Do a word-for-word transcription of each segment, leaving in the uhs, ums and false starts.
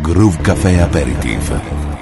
Groove Café Aperitif.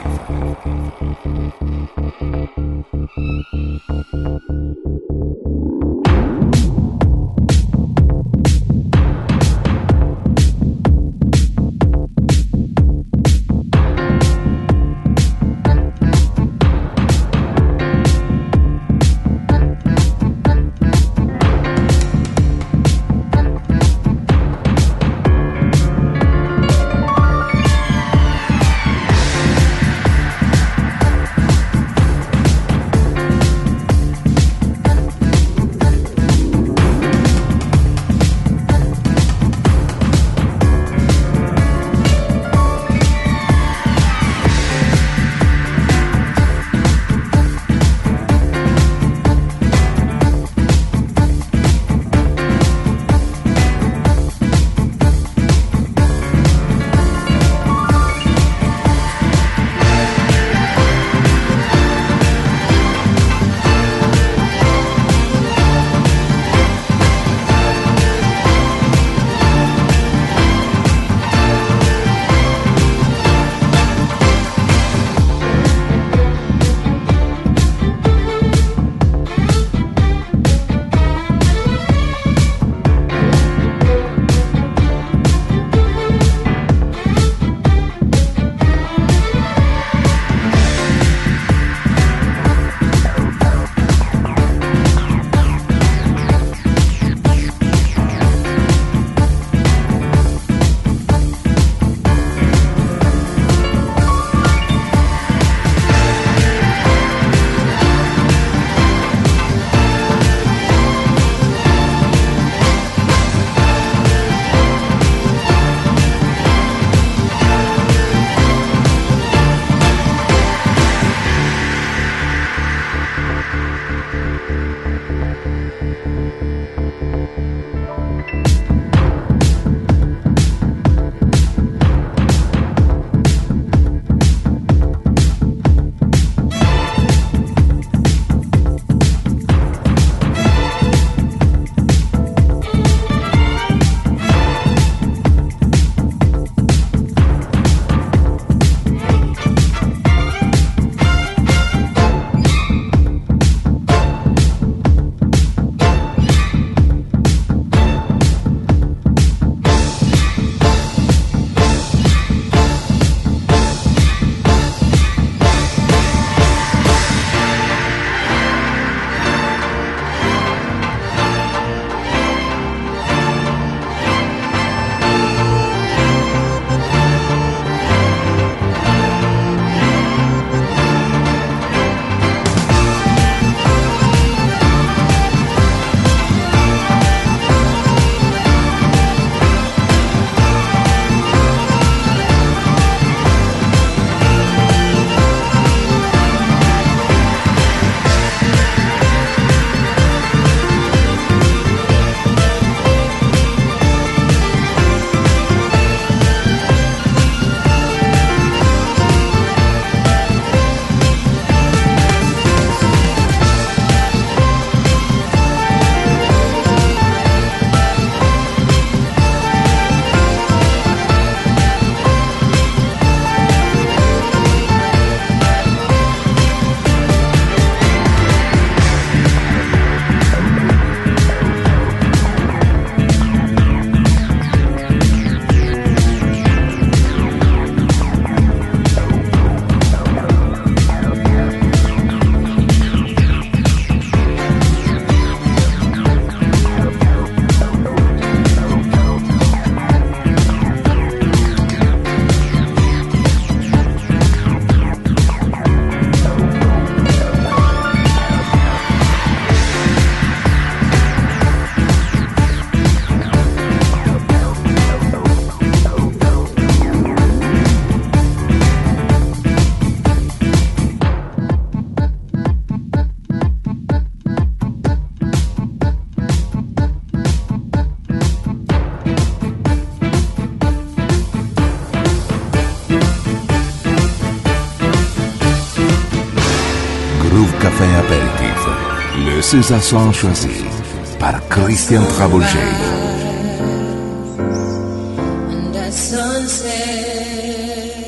Café Aperitif, le César choisi par Christian Trabouget. Under sunset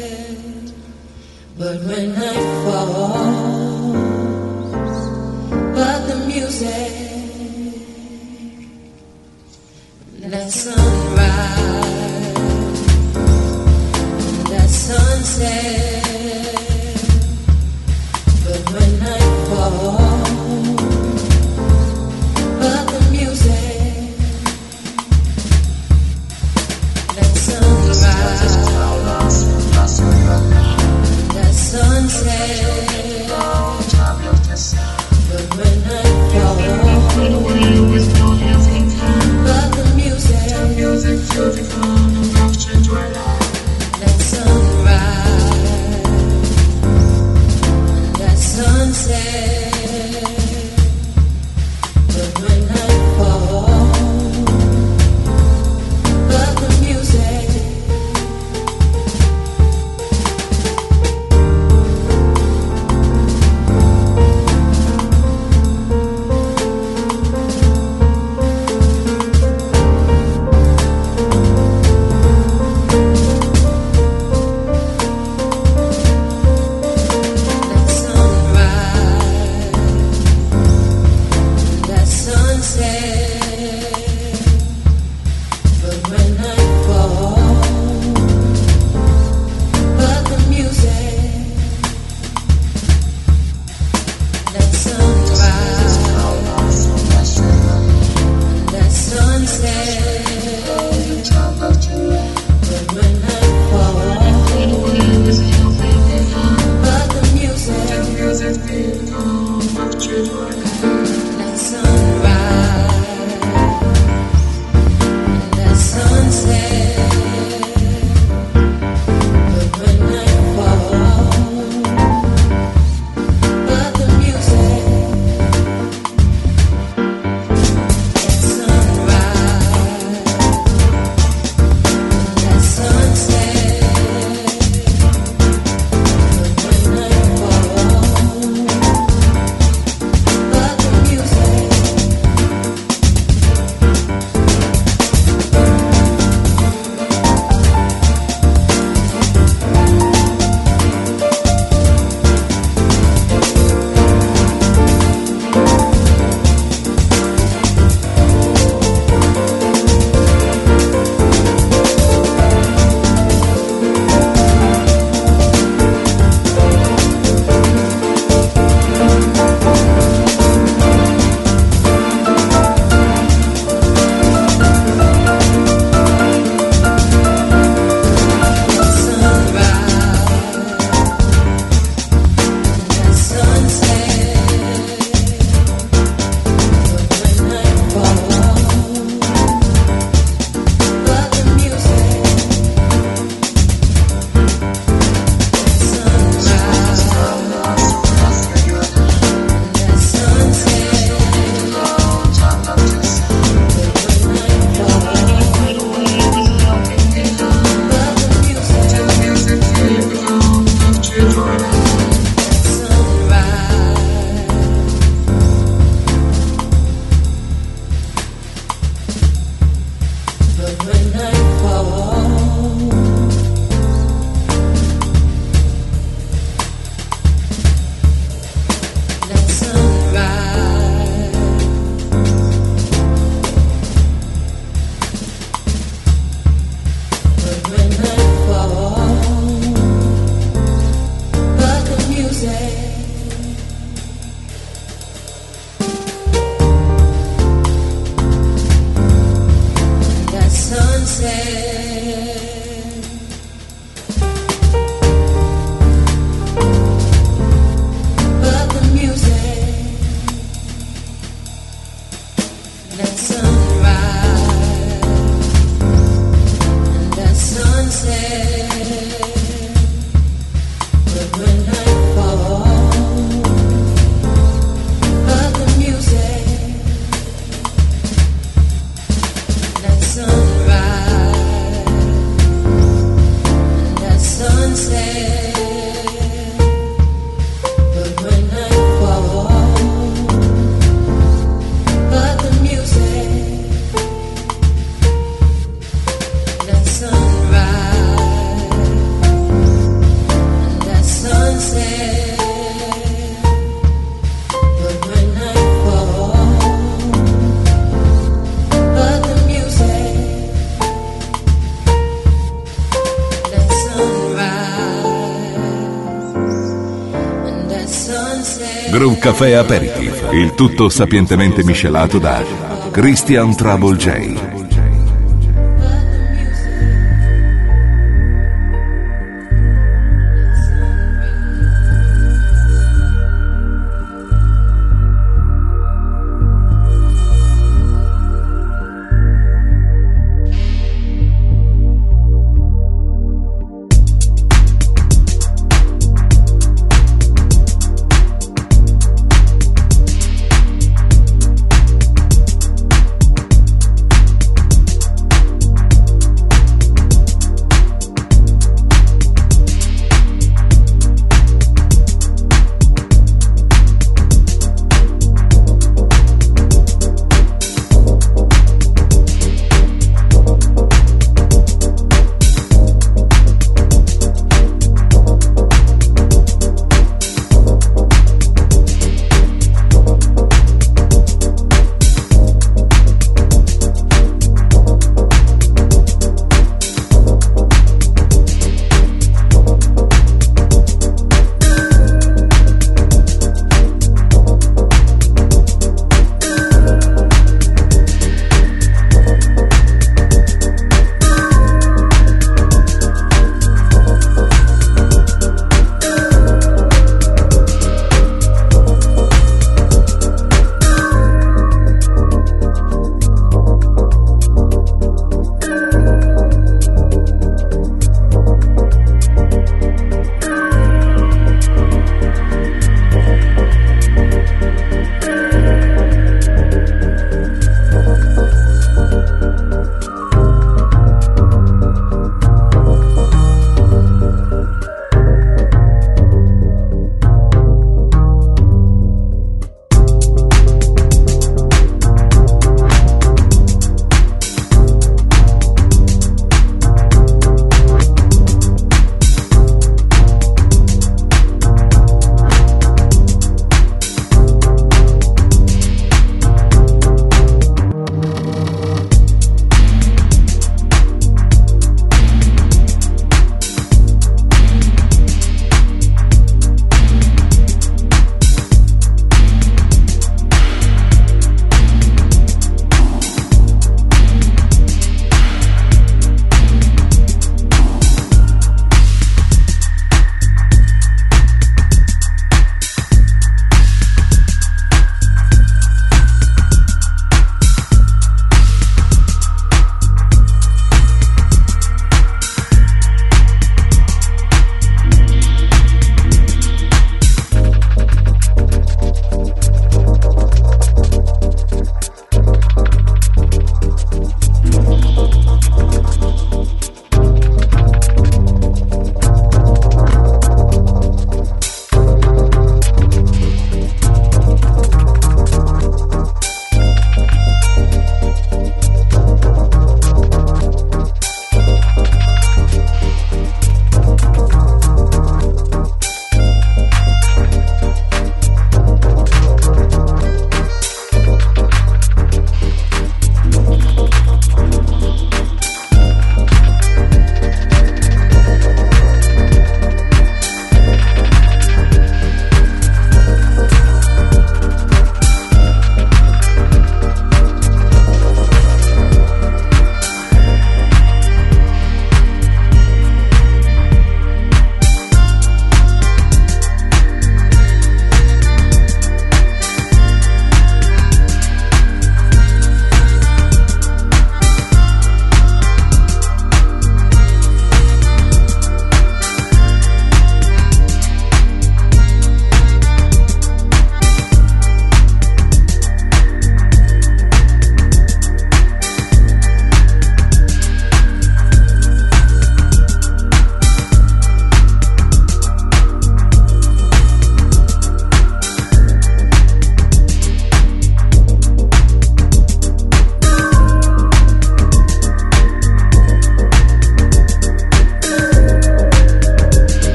sunrise and that sunset. Groove Café Aperitif, il tutto sapientemente miscelato da Christian Trouble J.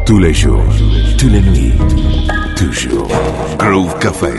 tous les jours, toutes les nuits, toujours. Groove Café.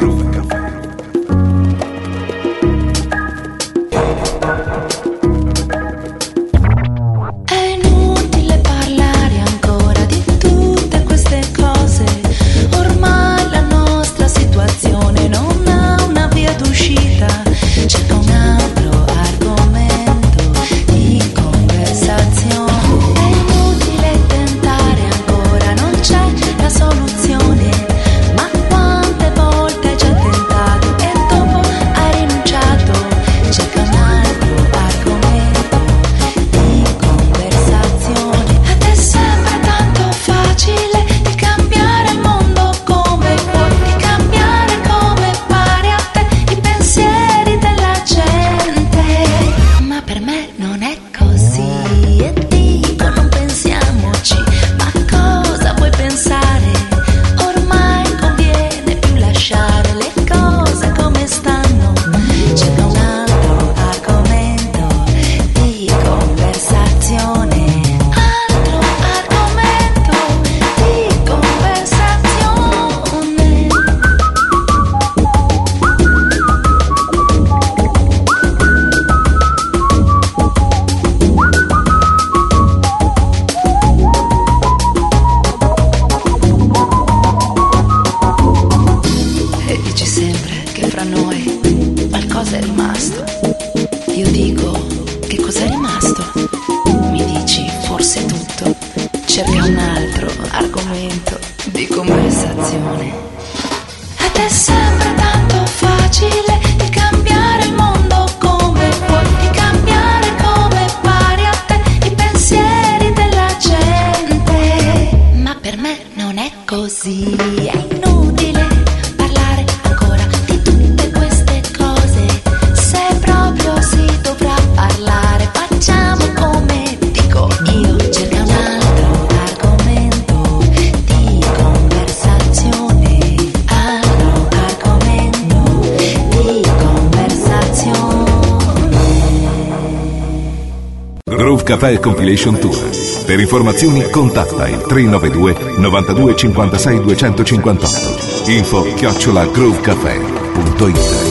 Café Compilation Tour. Per informazioni contatta il tre nove due novantadue cinquantasei duecentocinquantotto. Info chiocciola groovecafé punto it.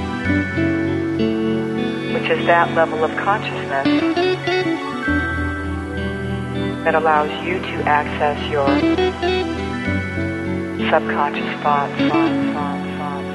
Level of consciousness that allows you to access your subconscious thoughts. thoughts, thoughts, thoughts,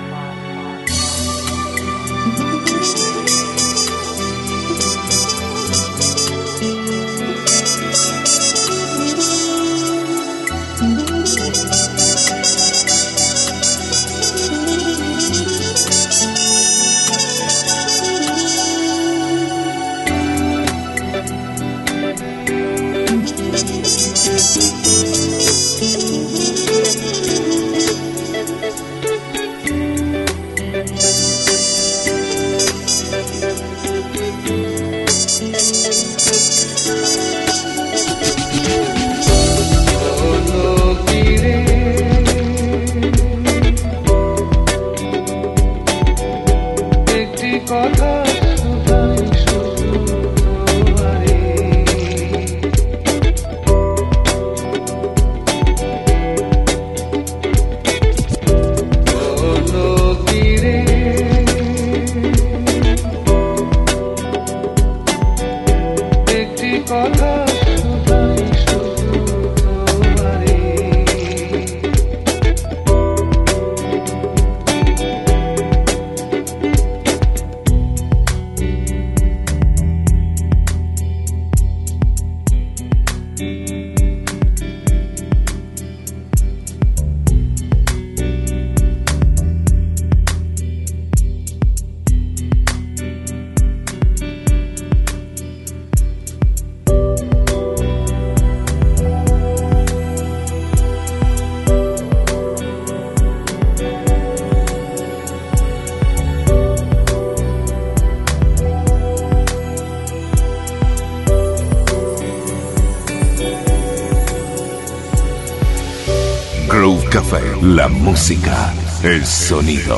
Groove Café, la música, el sonido.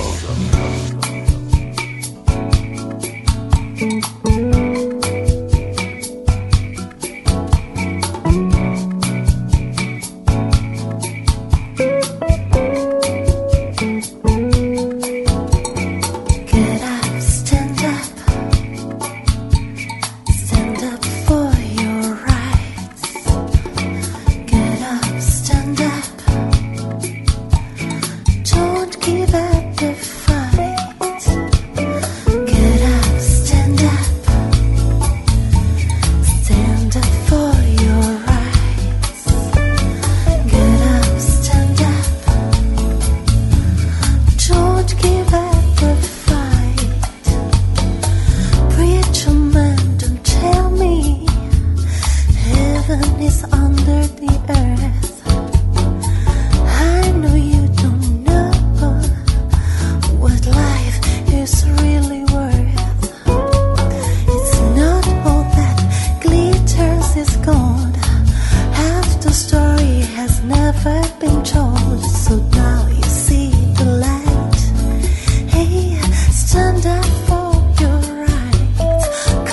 Stand up for your rights.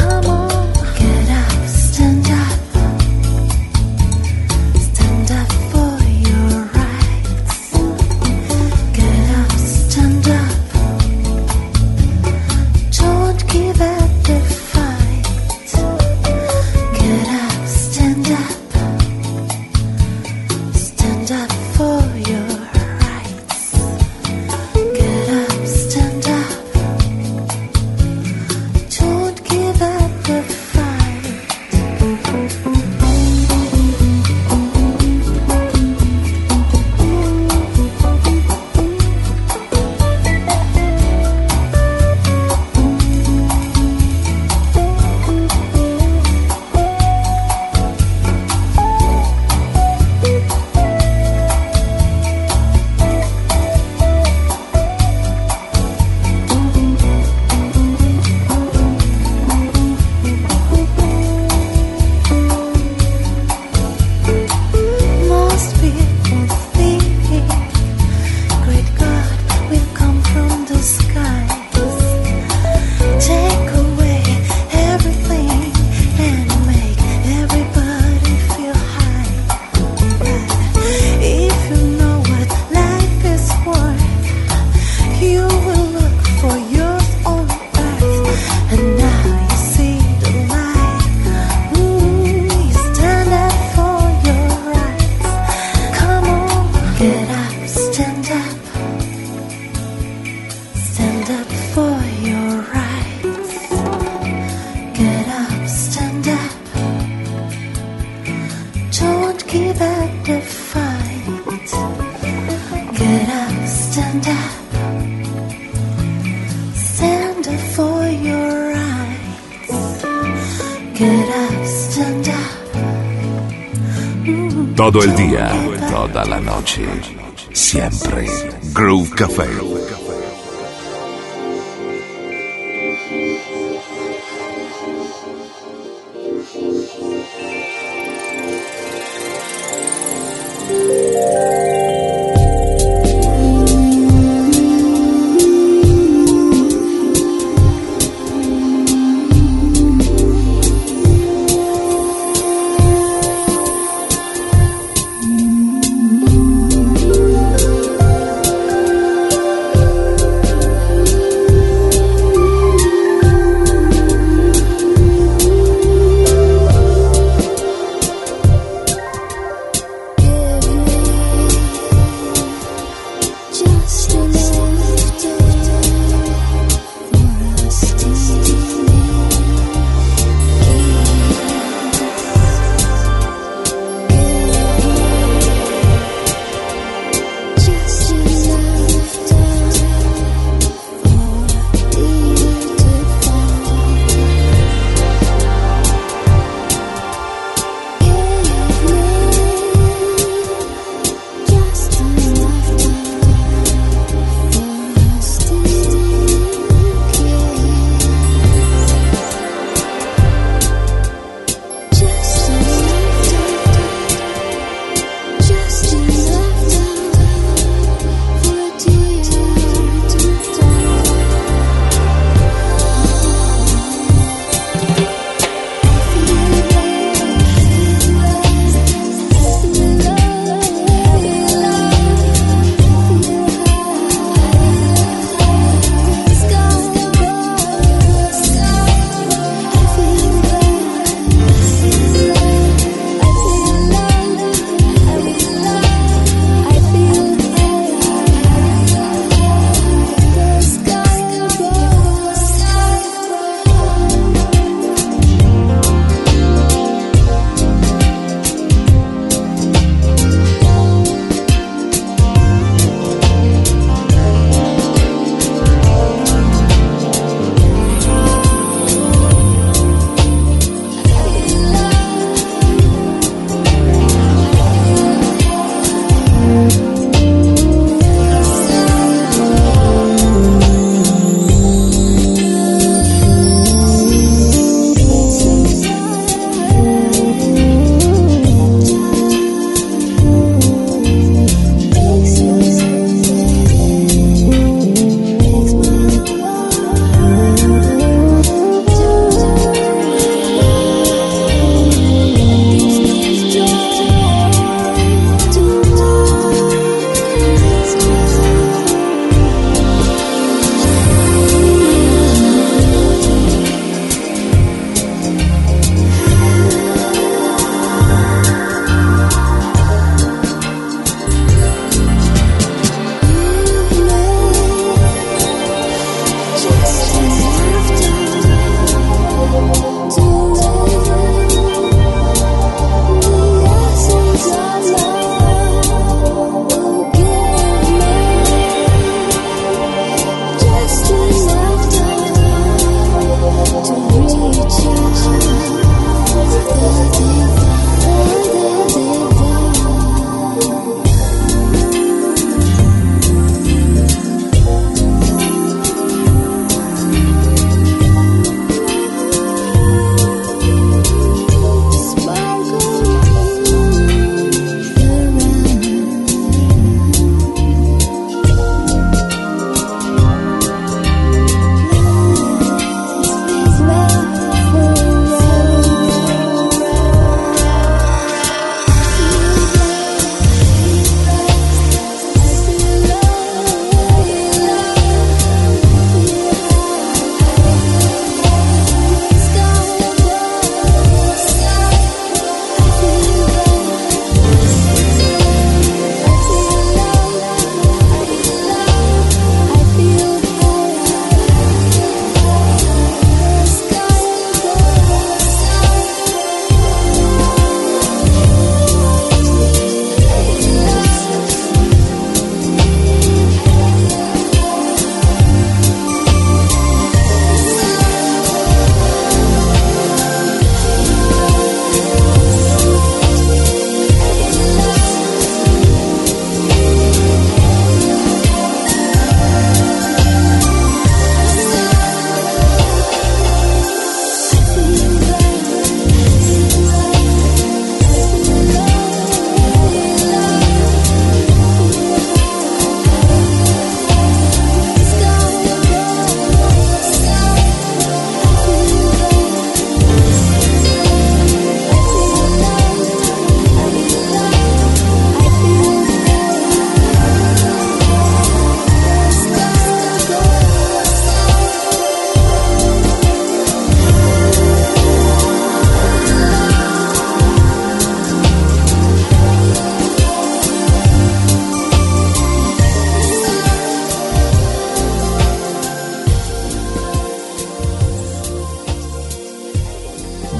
quieras andar. Todo el día, toda la noche, siempre. Groove Café.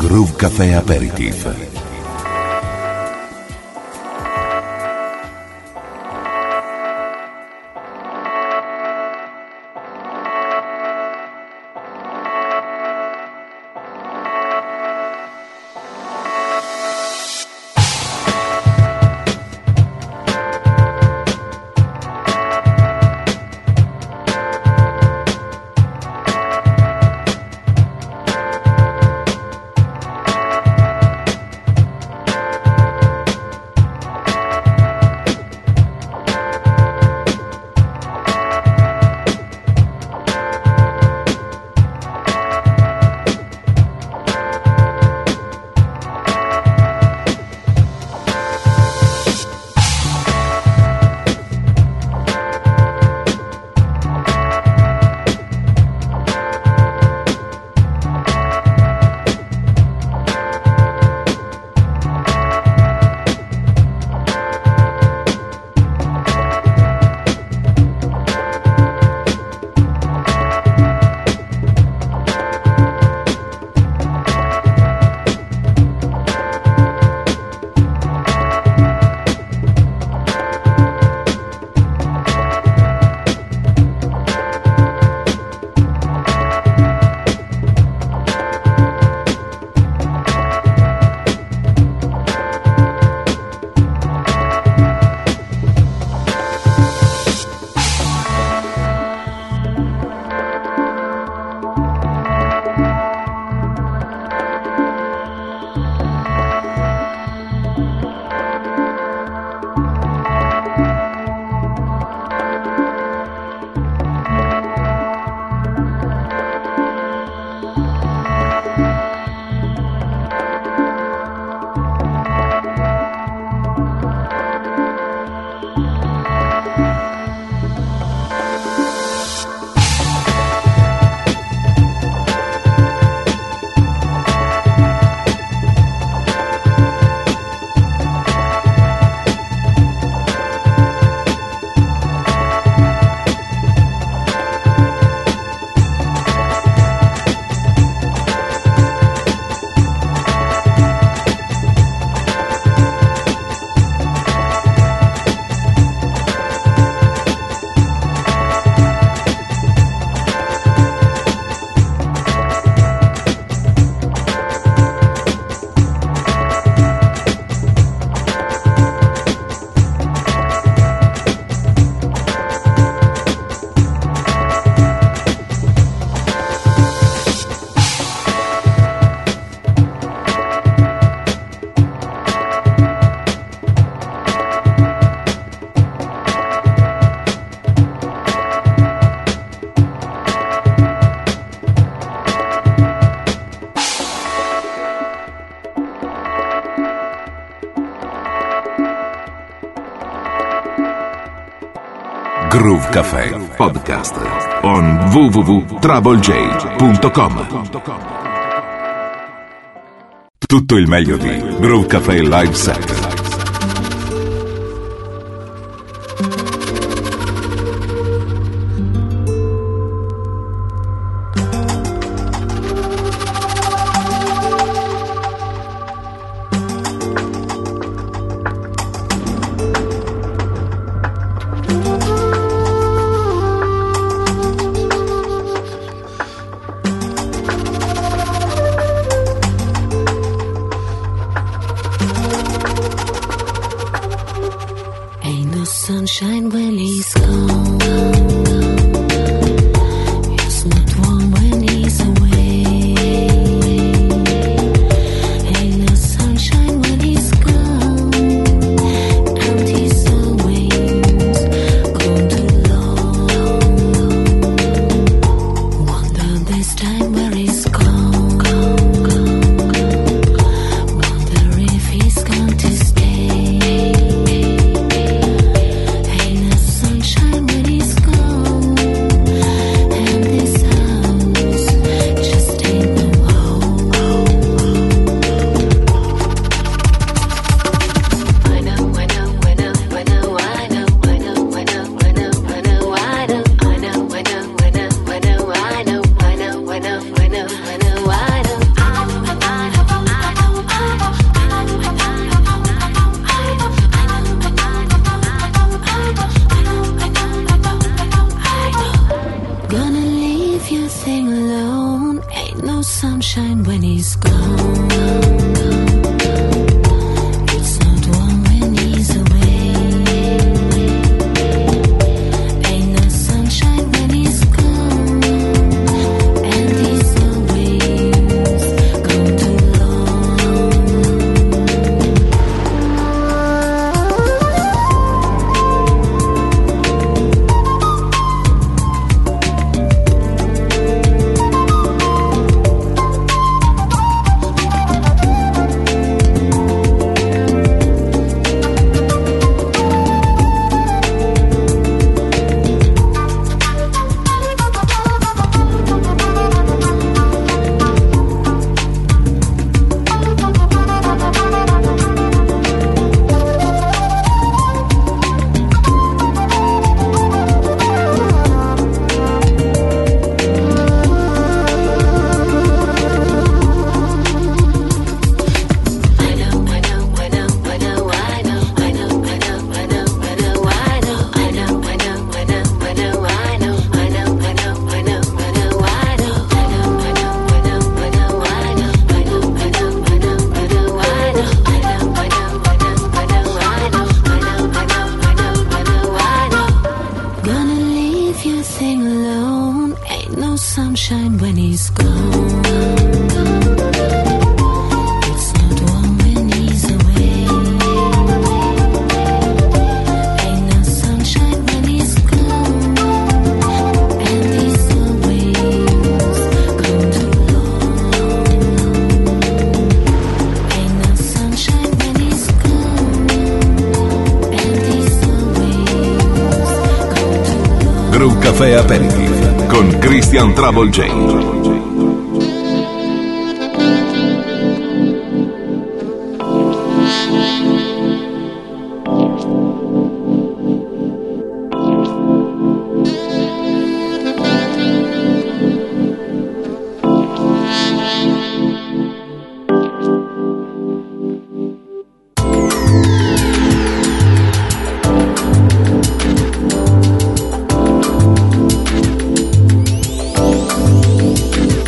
Groove Café Aperitif. Groove Café Podcast on w w w punto trouble j punto com. Tutto il meglio di Groove Café Live Set. Sunshine when he's gone. It's not warm when he's away. Ain't no sunshine when he's gone. And he's always gone too long. Wonder this time where he's gone. Wonder if he's going to stay. Sunshine. sunshine when he's gone. It's not warm when he's away. Ain't no sunshine when he's gone. And he's always gone too long. Sunshine when he's gone. It's not warm when he's away. Ain't no sunshine when he's gone. And he's always gone too long. Ain't no sunshine when he's gone. And he's always gone too long. Groove Café Aperitif con Christian Trouble J. Thank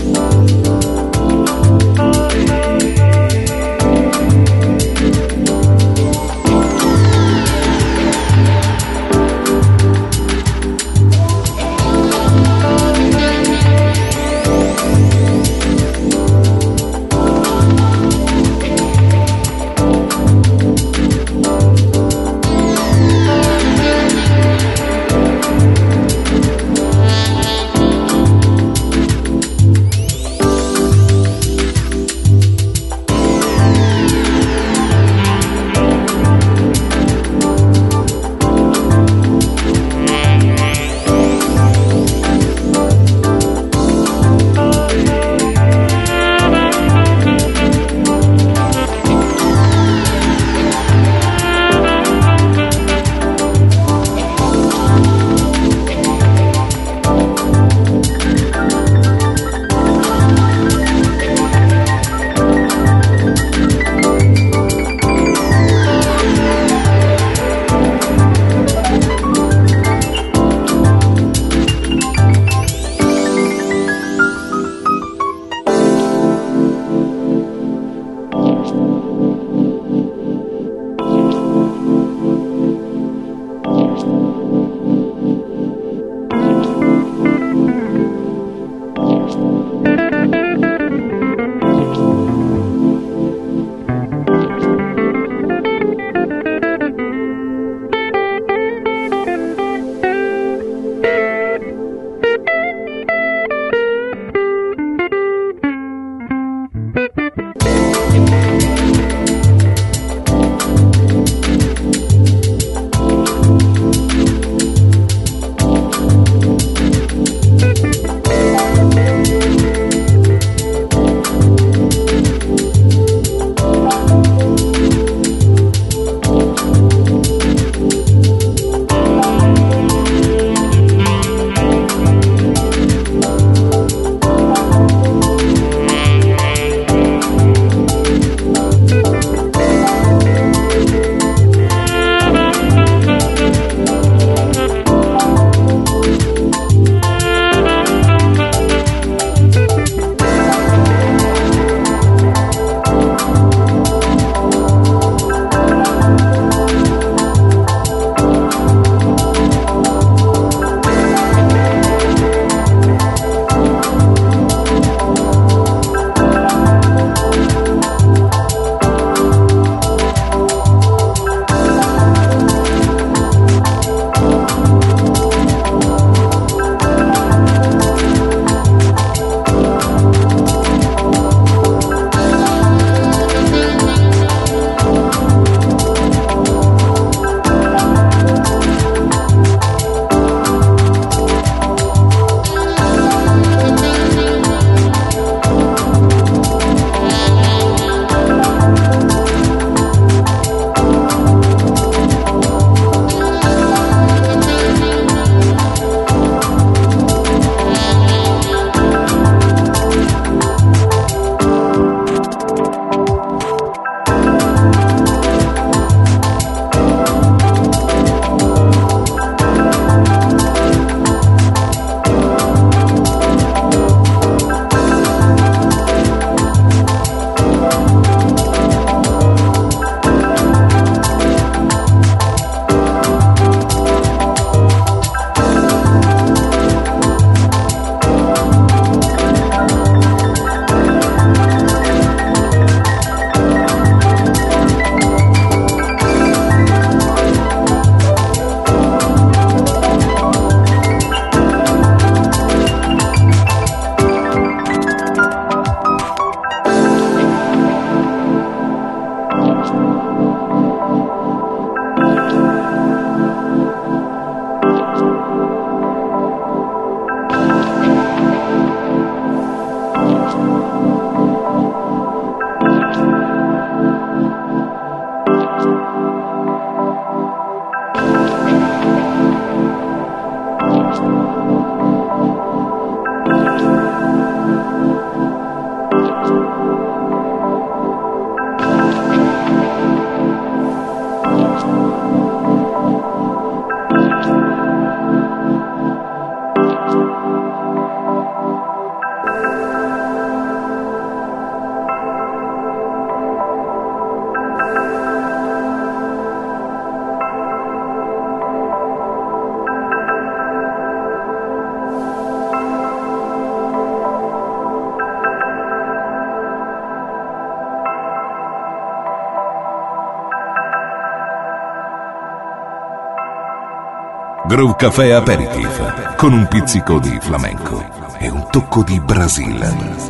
Groove Café Aperitif, con un pizzico di flamenco e un tocco di Brasile.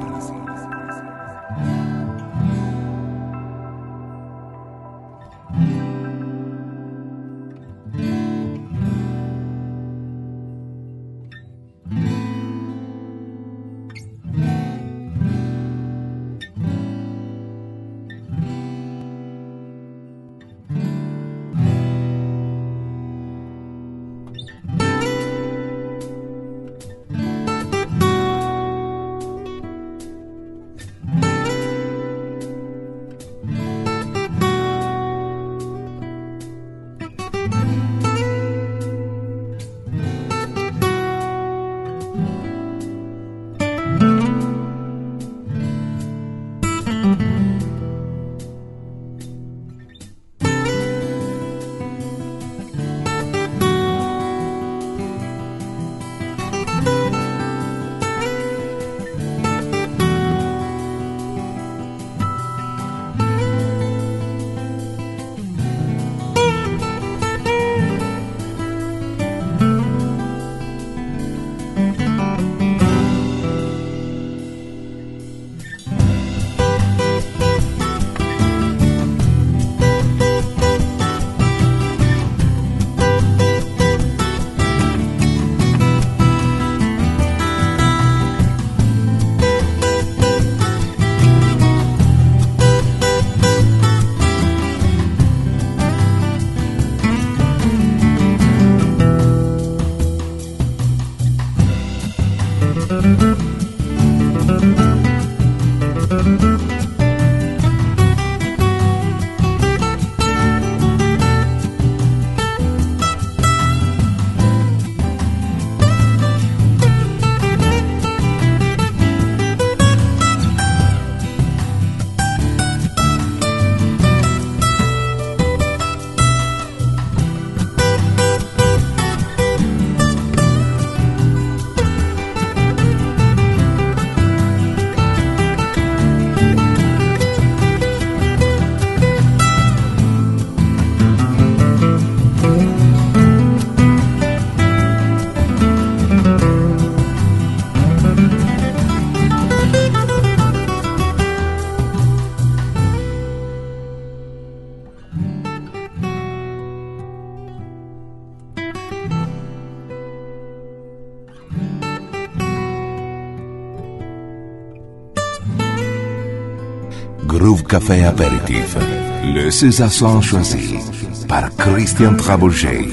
Groove Café Aperitif, le César choisi par Christian Trabouget.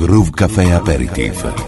Groove Café Aperitif.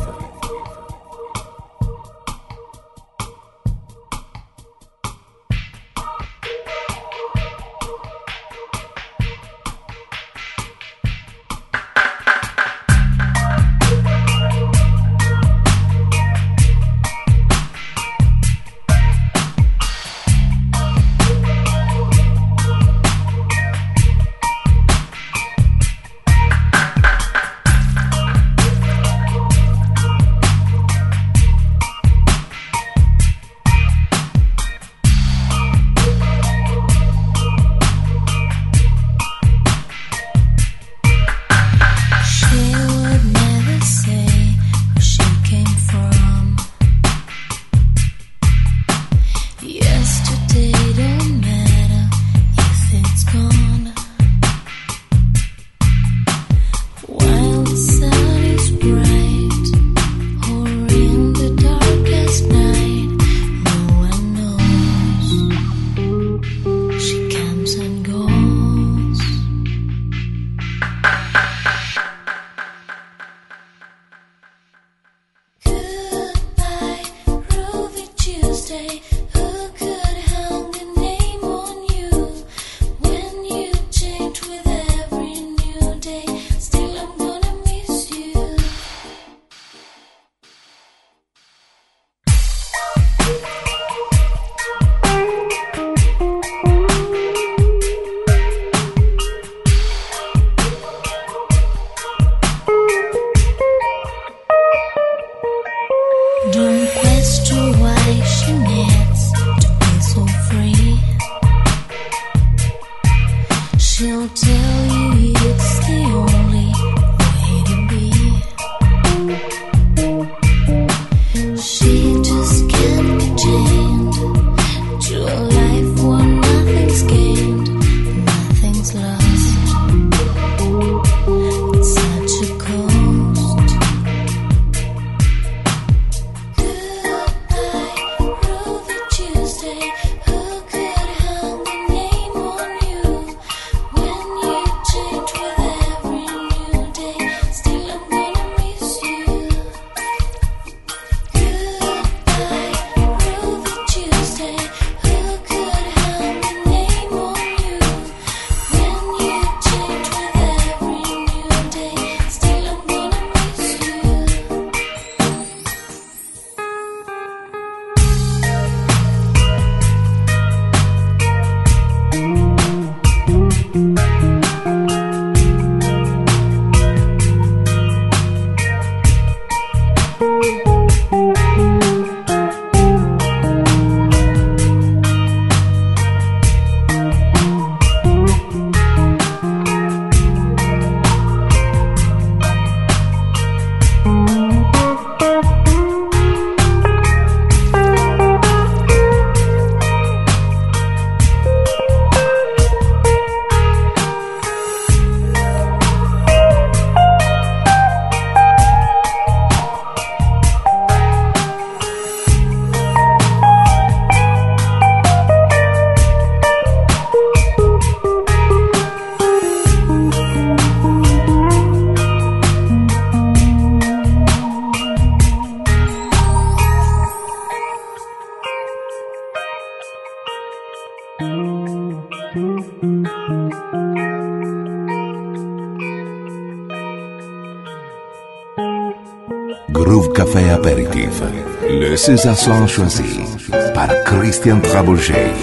Groove Café Aperitif. Le César Son choisi par Christian Trabouget.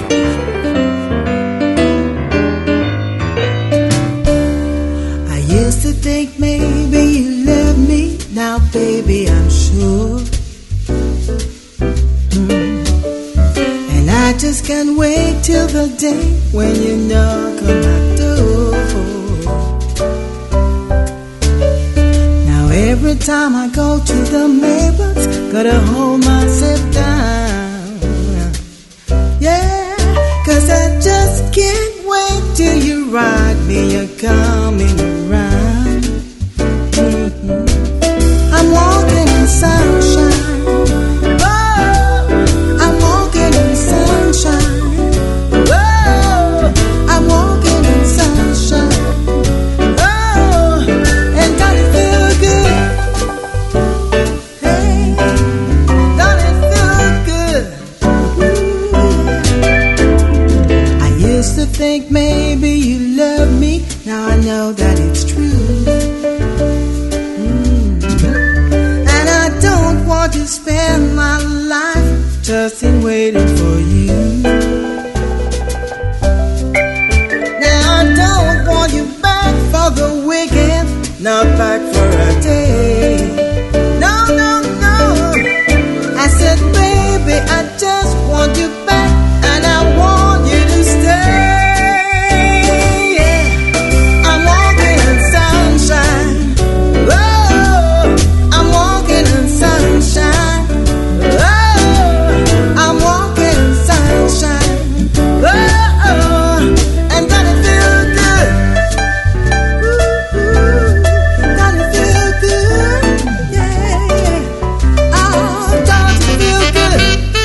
I used to think maybe you love me, now baby I'm sure. Mm. And I just can't wait till the day when you knock on my door. Every time I go to the neighbors, gotta hold myself down. Yeah, cause I just can't wait till you ride me, you're coming around. Mm-hmm. I'm walking in sunshine. Oh, I'm walking in sunshine. Oh, I'm walking in sunshine. Oh, and God, it feels good. baby, you love me. Now I know that it's true. Mm. And I don't want to spend my life just in waiting for you. Now I don't want you back for the weekend, not back for a day. No, no, no. I said, baby, I just want you back, and I want you to stay. Yeah. I'm walking in sunshine. Oh, I'm walking in sunshine. Oh, I'm walking in sunshine. Oh, and doesn't it feel good? Ooh, ooh, doesn't it feel good? Yeah. Oh, doesn't it feel good?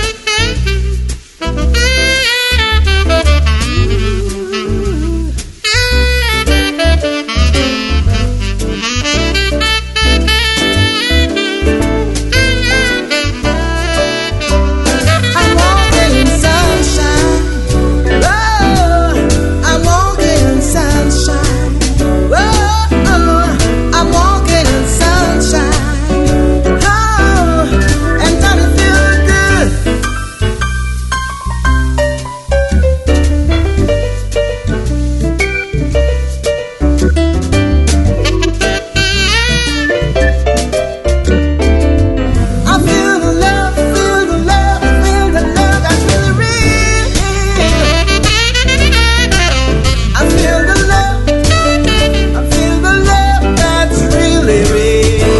I'm walking in sunshine. Oh, I'm walking in sunshine. Oh, I'm walking in sunshine. Oh, and doesn't it feel good? I feel the love, feel the love, feel the love that's really real. I feel the love, I feel the love that's really real.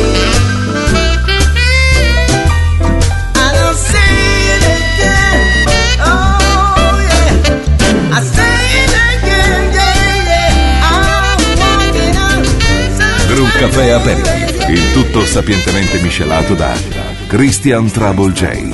And I'll say it again, oh yeah. I say it again, yeah, yeah. I'm walking on sunshine. Groove Café Aperitif, il tutto sapientemente miscelato da Christian Trouble J.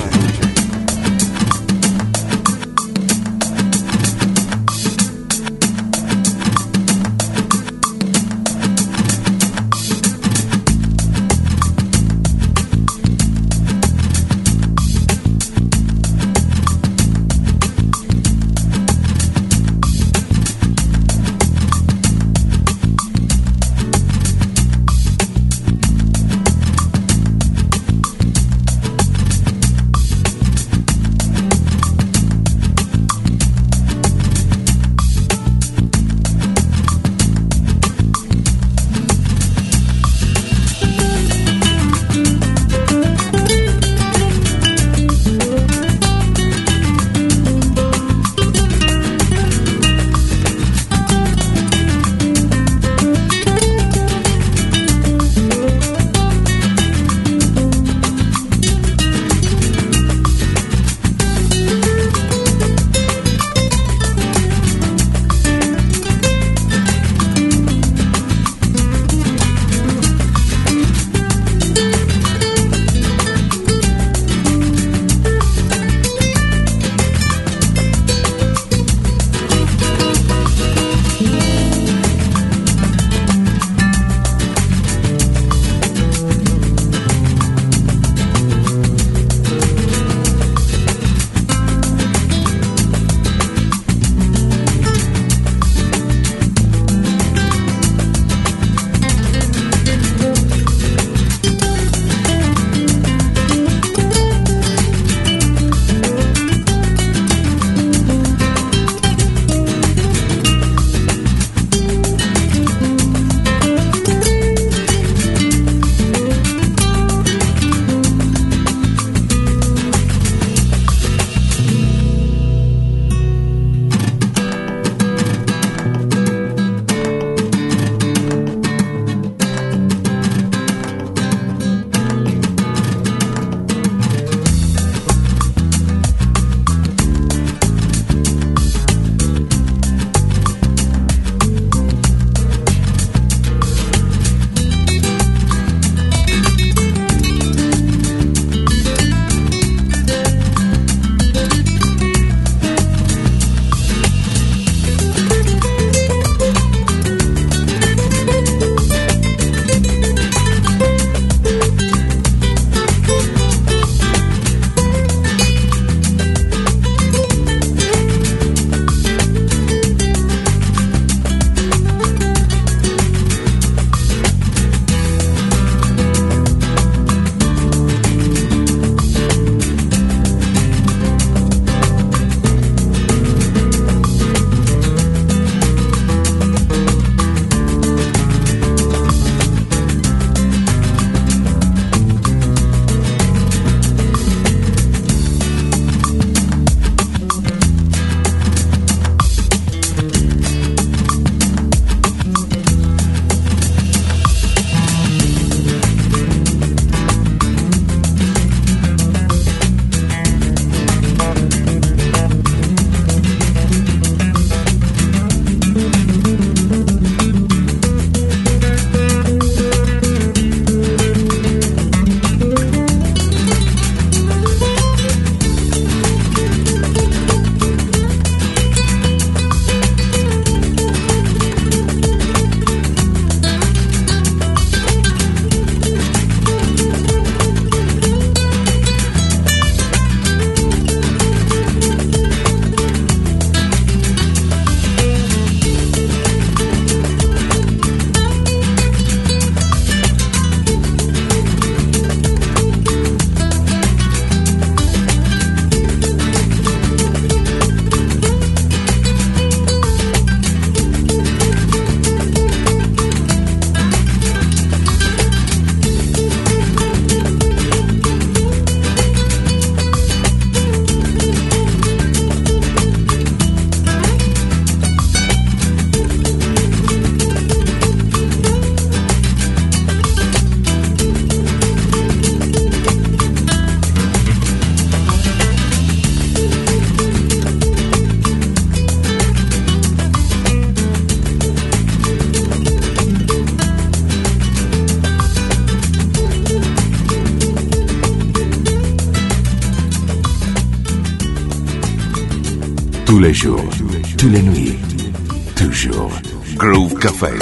les jours, toutes les nuits, toujours. Groove Café.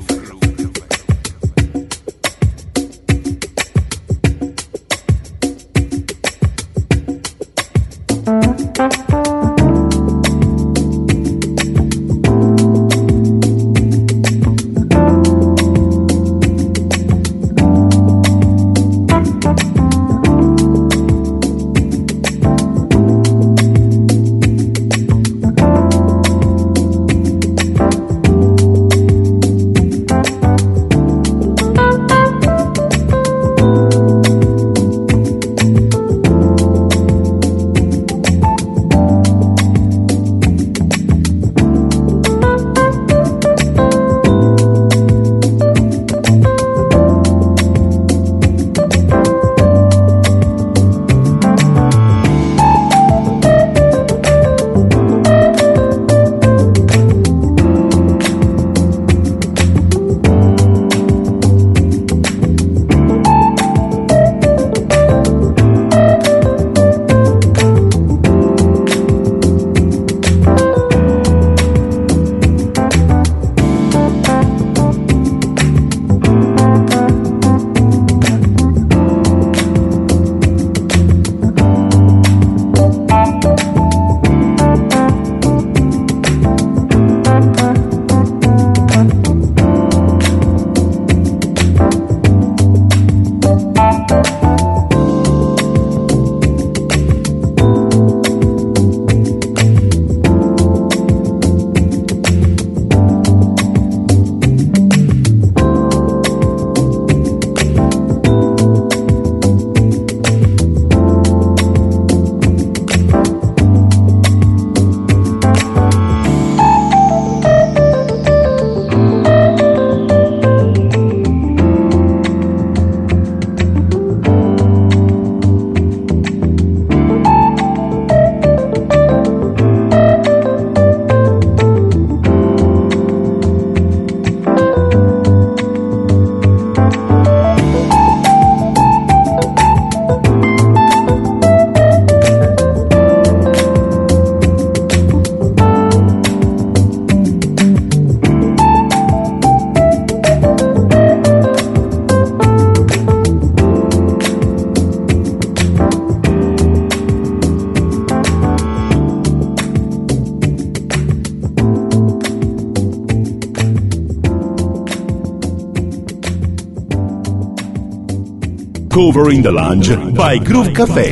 Cover in the Lounge by Groove Café.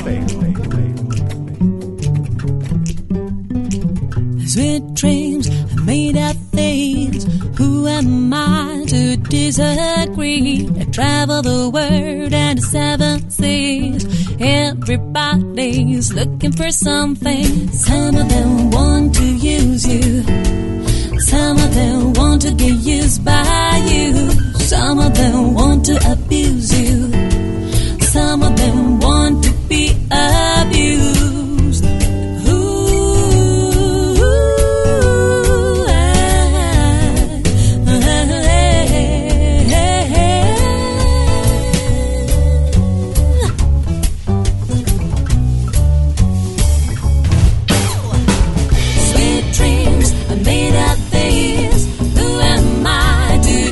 Sweet dreams are made of things. Who am I to disagree? I travel the world and the seven seas. Everybody's looking for something. Some of them want to use you. Some of them want to get used by you. Some of them want to abuse you. Some of them want to be abused. Ooh, ah, Sweet dreams are made of these. Who am I to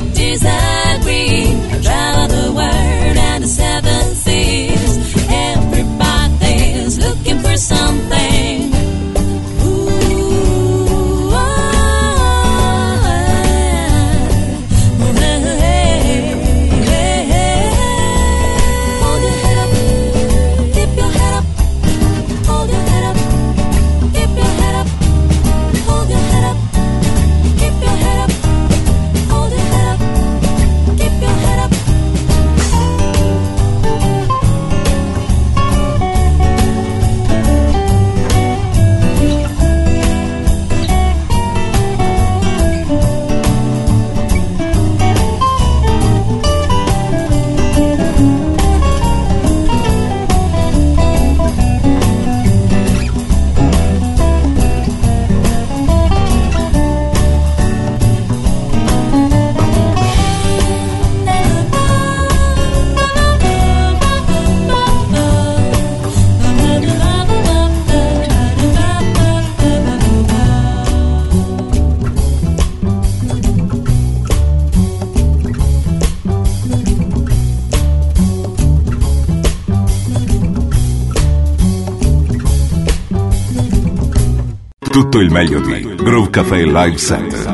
Tutto il meglio di Groove Café Live Set.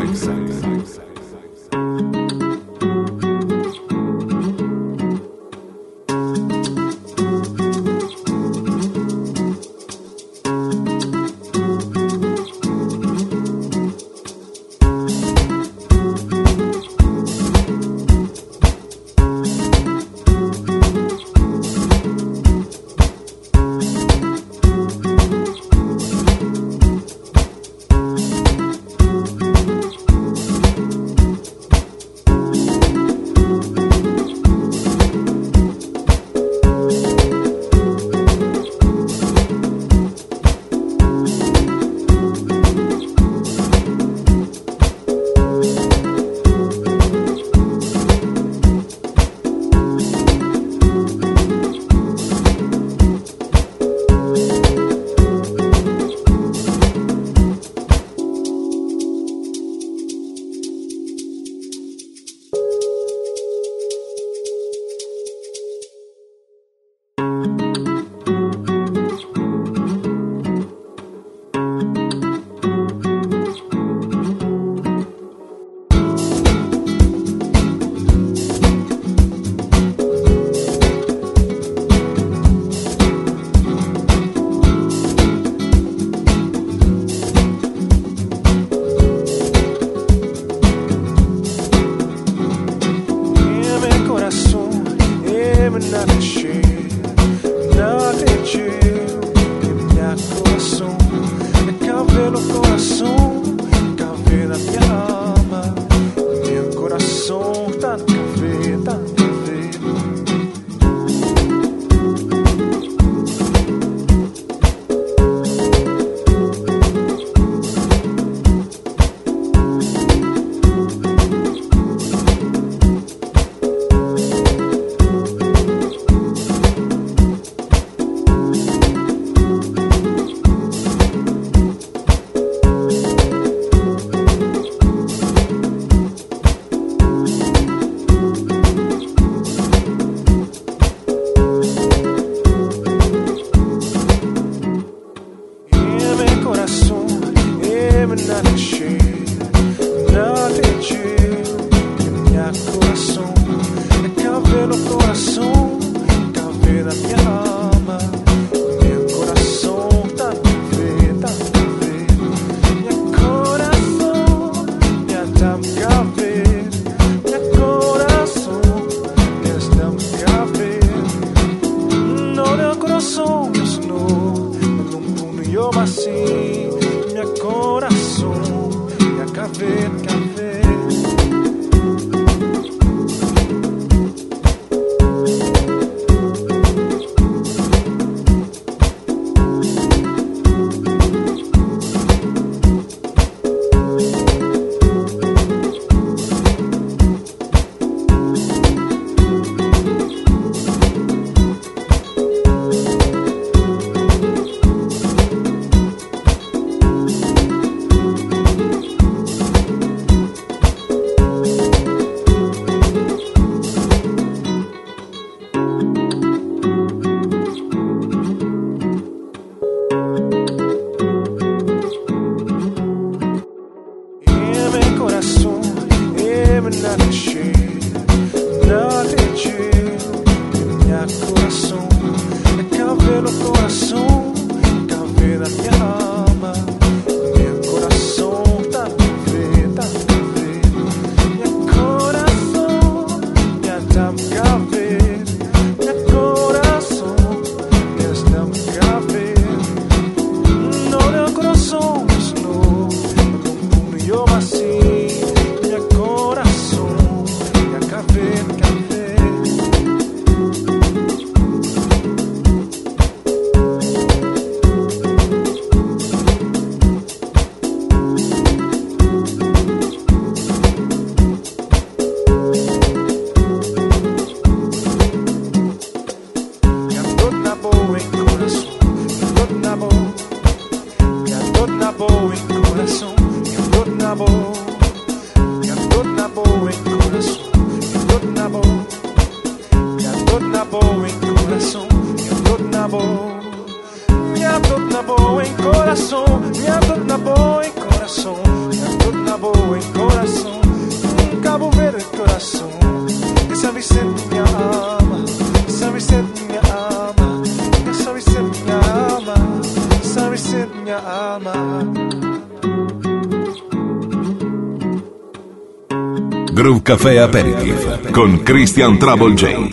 Groove Café Aperitif con Christian Trouble J.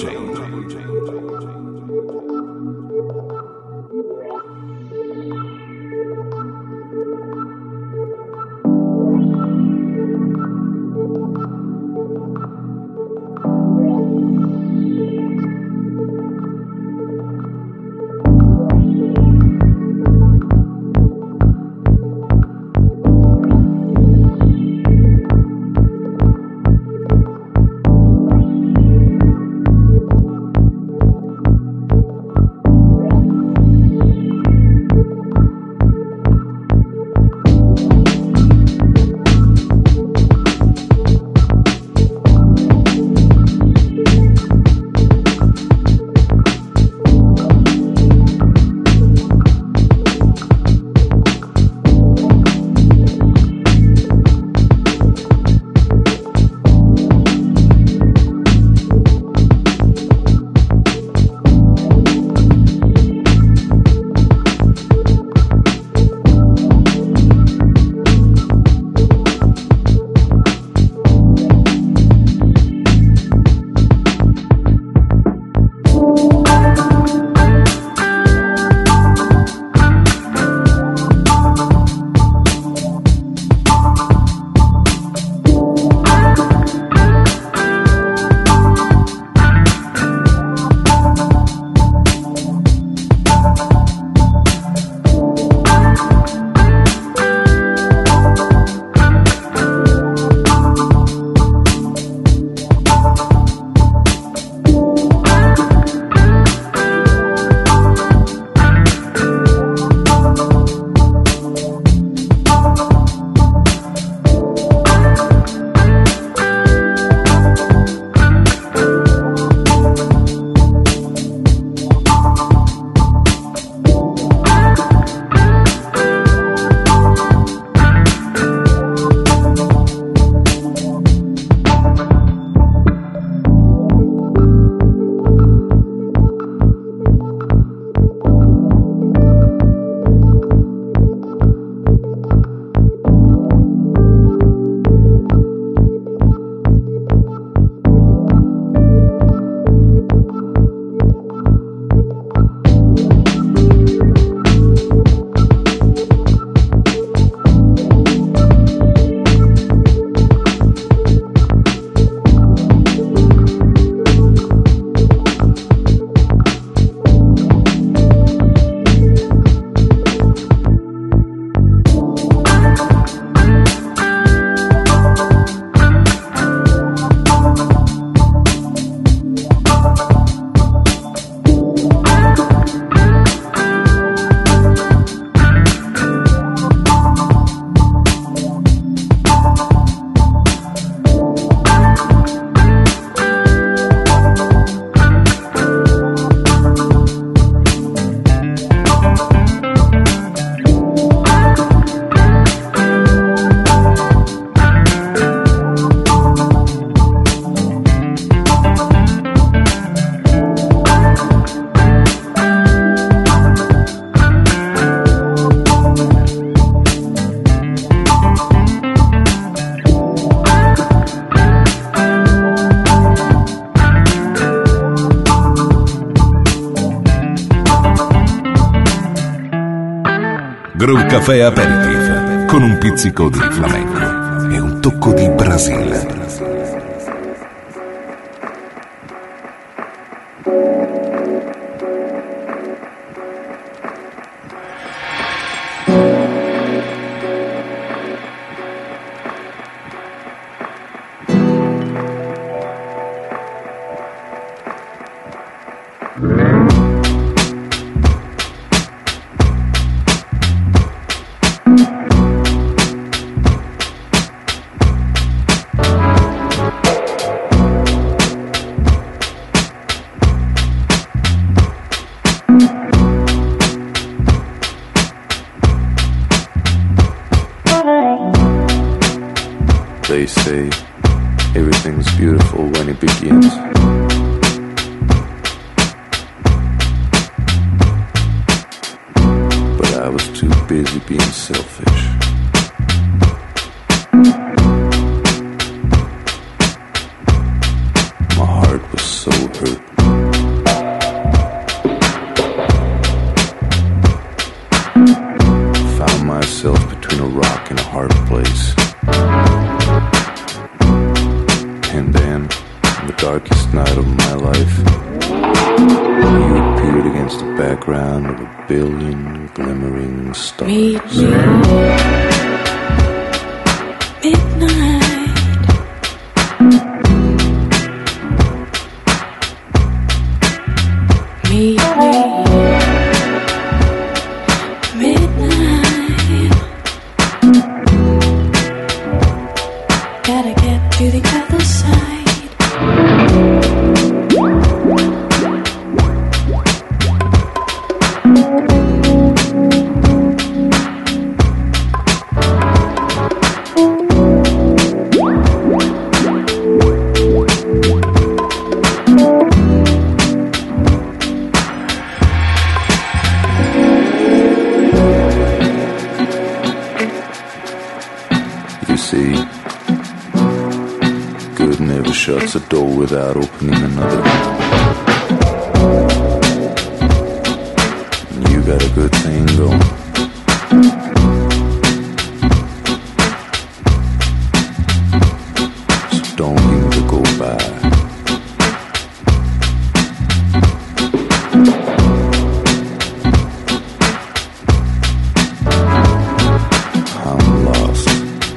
Groove Café Aperitif con un pizzico di flamenco e un tocco di Brasile. They say everything's beautiful when it begins. But I was too busy being selfish. darkest night of my life, you appeared against the background of a billion glimmering stars. Meet me. Midnight. Meet me. Midnight. Gotta get to the other side. You see, good never shuts a door without opening another. And you got a good thing going. So don't give it a go by. I'm lost.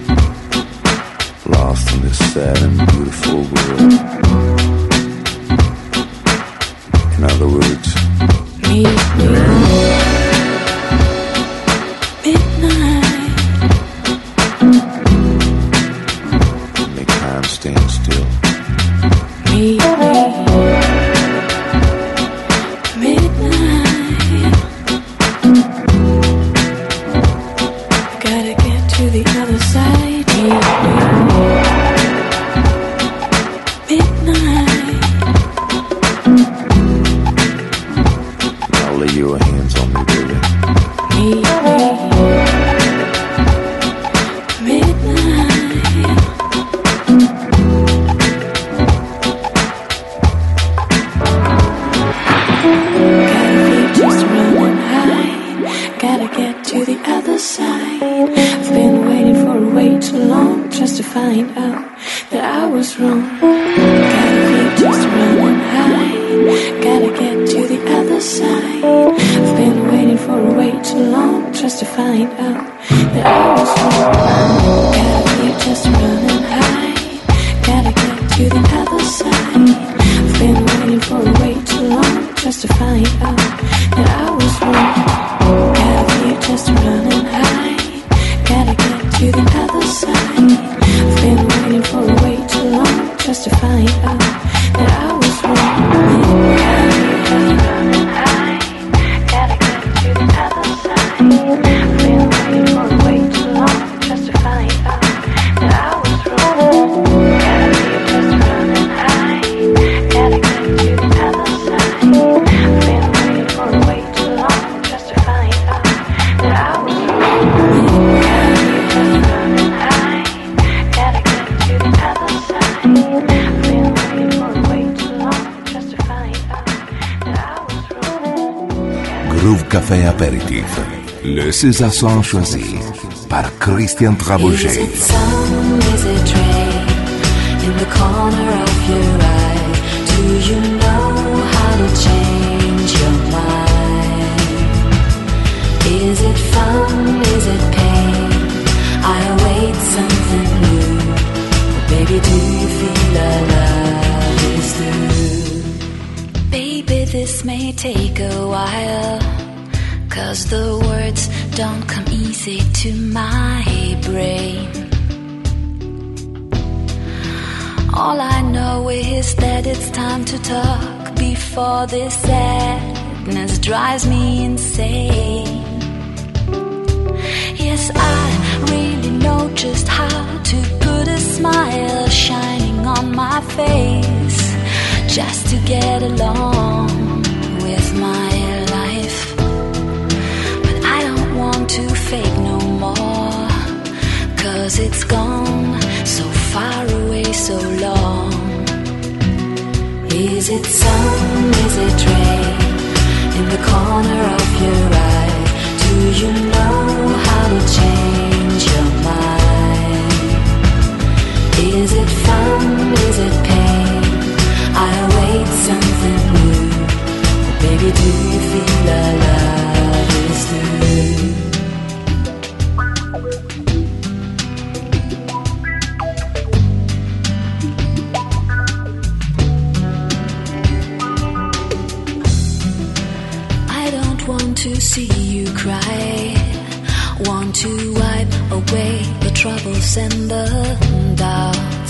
Lost in this sad and beautiful world. In other words, Meet me. Midnight. make time stand still. Meet me. Midnight. Gotta get to the other side. Meet me. Midnight. Now lay your hands on me, baby. Meet me. Midnight. Gotta be just running high. Gotta get to the other side. I've been waiting for way too long just to find out that I was wrong. Gotta be just running high. Gotta get to the other side. I've been waiting for way too long just to find out that I was wrong. Gotta be just running high. Gotta get to the other side. I've been waiting for way too long just to find out that I was wrong. Gotta be just running high. Gotta get to the other side. I've been waiting for way too long just to find out that I was wrong. Gotta be just running high. Gotta get to the other side. I've been waiting for way too long just to find out that I was wrong. Gotta be just running high. Gotta get to the other side. I've been waiting for way too long just to find out that I was wrong. Gotta be just running high. Gotta get to the other side. I've been waiting for way too long just to find out that I was wrong. Groove Café Aperitif. Le César Son choisi par Christian Is Trabouget. it sun, is it rain in the corner of your eye? Do you know how to change your mind? Is it fun, is it pain? I await something new. Baby, do you feel our love is through? Baby, this may take a while, 'cause the words don't come easy to my brain. All I know is that it's time to talk before this sadness drives me insane. Yes, I really know just how to put a smile shining on my face, just to get along with my life. But I don't want to fake no more, 'cause it's gone so far away, so long. Is it sun, is it rain in the corner of your eye? Do you know how to change your mind? Is it fun, is it pain? see you cry, want to wipe away the troubles and the doubts.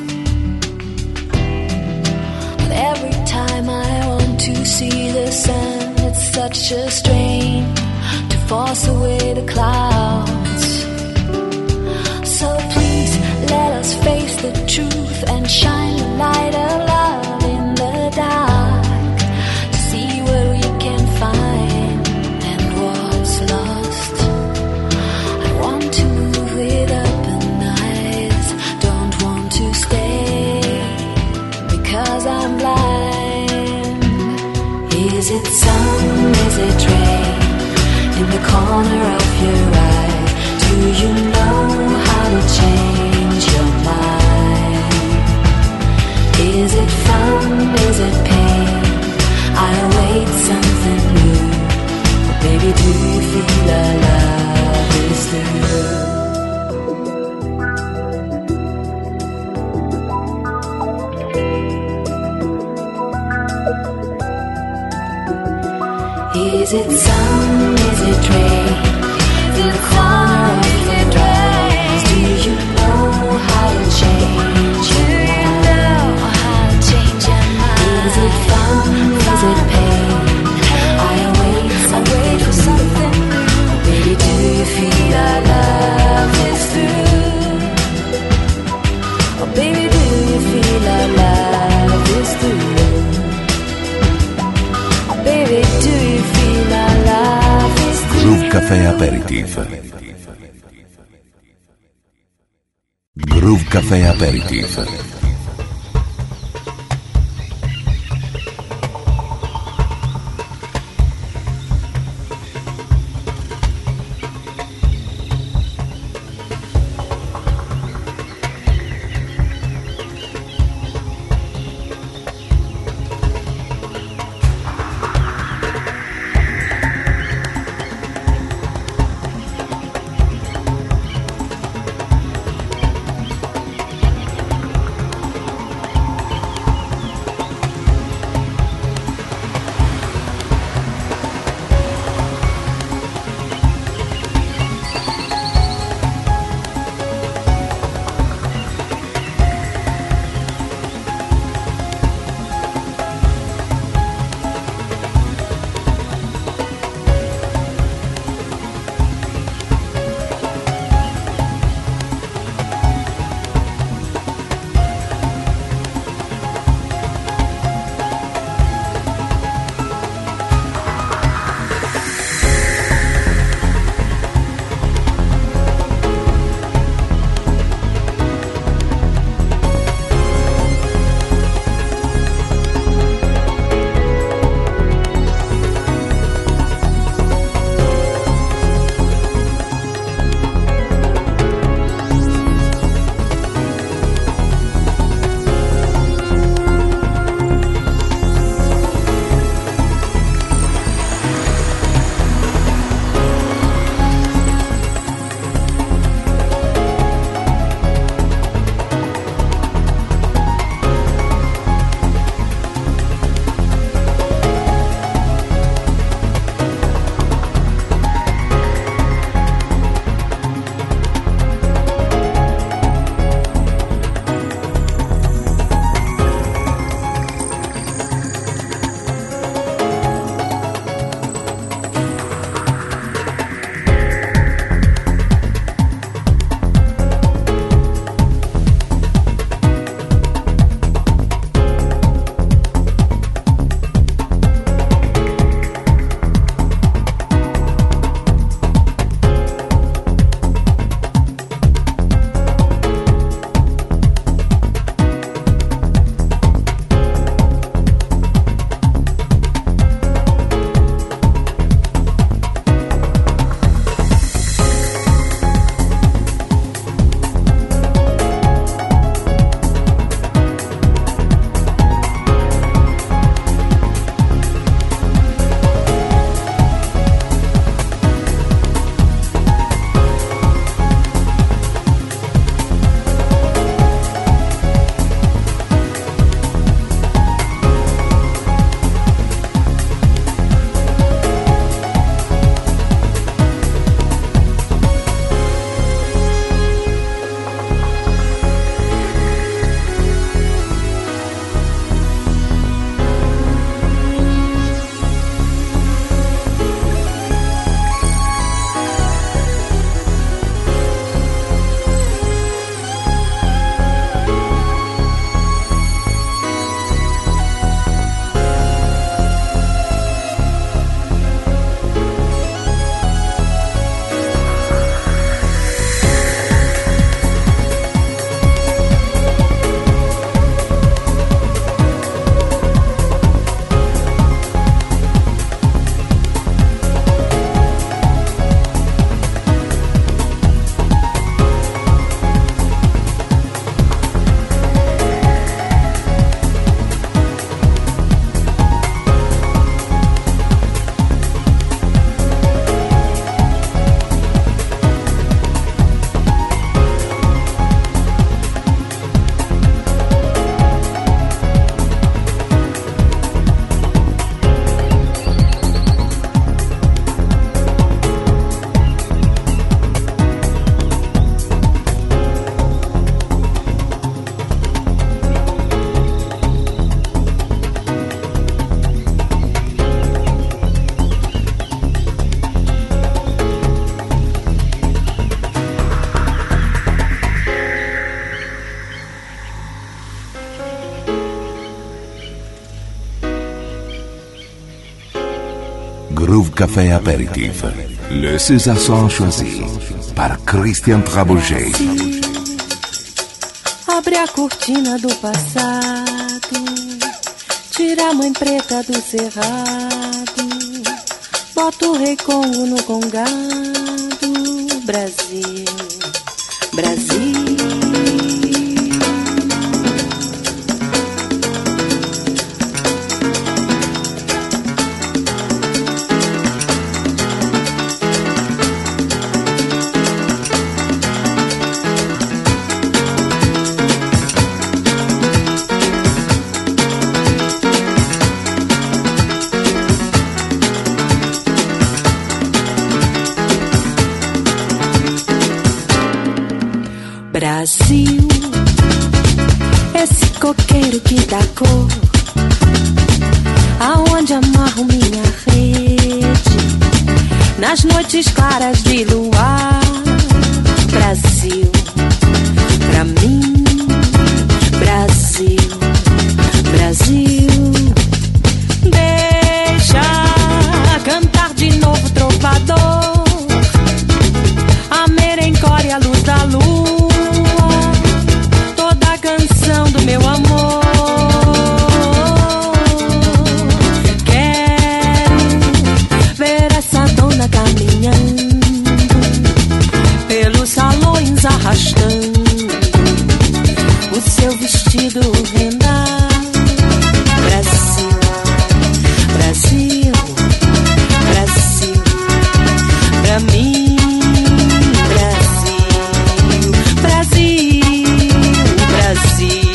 But every time I want to see the sun, it's such a strain to force away the clouds. So please let us face the truth and shine the light of love in the dark, to see what we can find and what's lost. I want to move with open eyes, don't want to stay because I'm blind. Is it sun, is it rain in the corner of your eye? Do you know how to change your mind? Is it fun, is it pain? I await something new. Baby, do you feel our love is through? Is it sun, is it rain? In the corner of your eyes, do you know how to change your mind? Is it fun, is it pain? I await something new. Baby, do you feel our love is through? Oh baby, do you feel our love is through? Oh baby, do you feel our love is through? Groove Café Aperitif. Groove Café Aperitif. Groove Café Apéritif. Le César Son choisi par Christian Trabouget. Abre a cortina do passado, tira a mãe preta do cerrado, bota o rei Congo no congado. Brasil, Brasil. Brasil, esse coqueiro que dá cor, aonde amarro minha rede, nas noites claras de luar. Brasil, pra mim, Brasil, Brasil. Deixa cantar de novo trovador, a merencória, a luz da lua, do meu amor. Quero ver essa dona caminhando pelos salões, arrastando o seu vestido rendado. Brasil, Brasil, Brasil, pra mim, Brasil, Brasil, Brasil.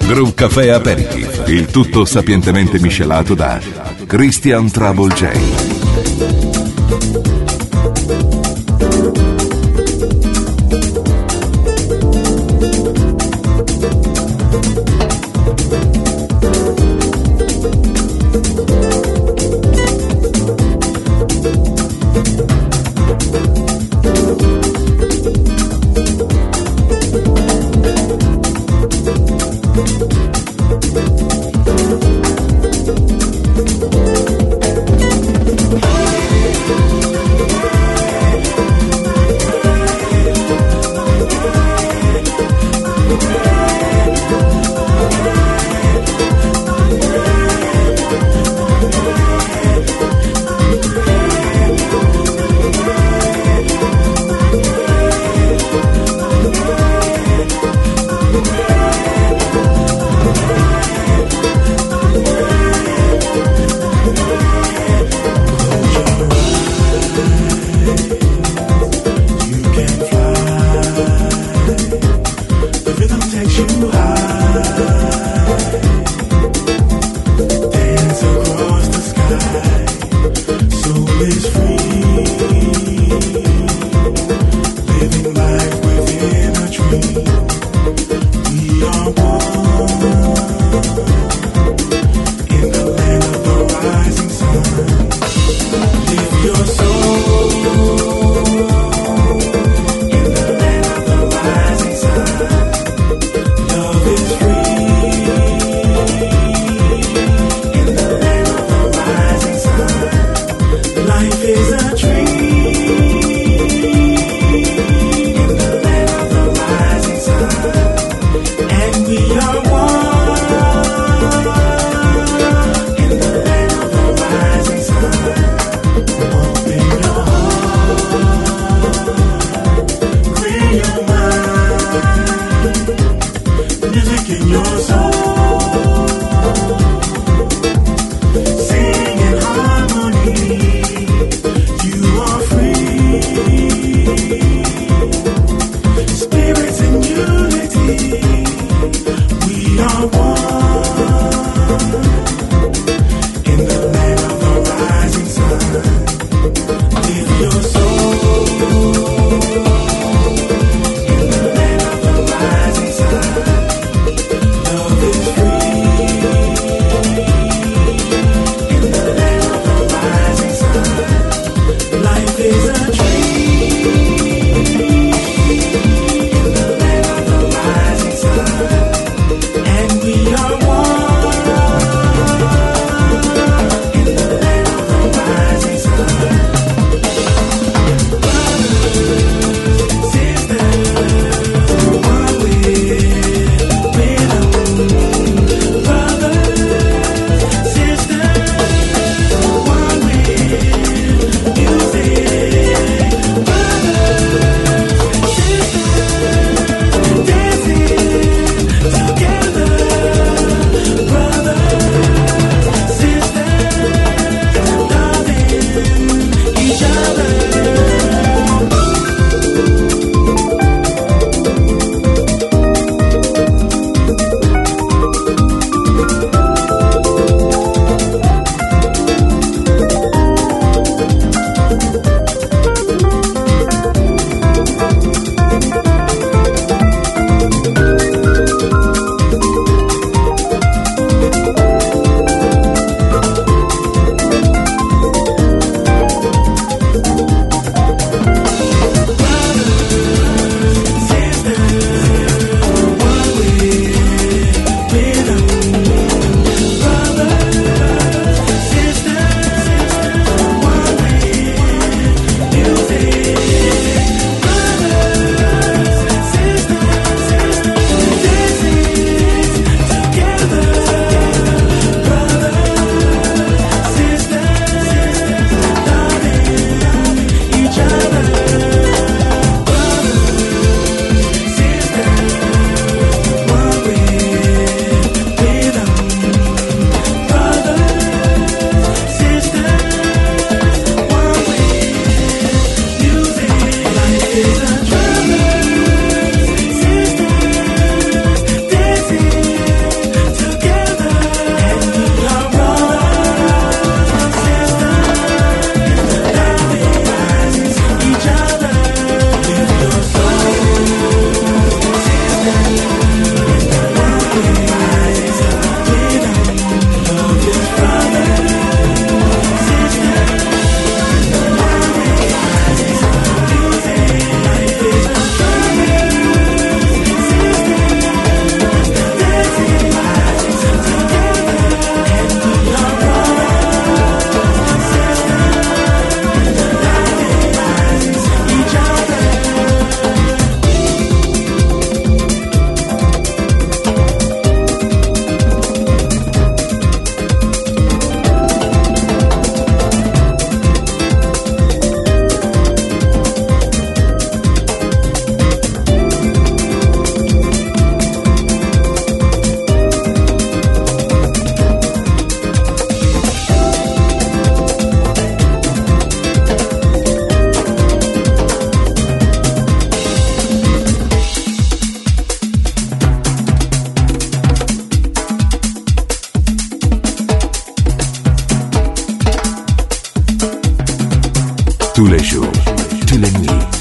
Groove Café Aperitif, il tutto sapientemente miscelato da Christian Trouble J. We are Tous les jours, tous les nuits.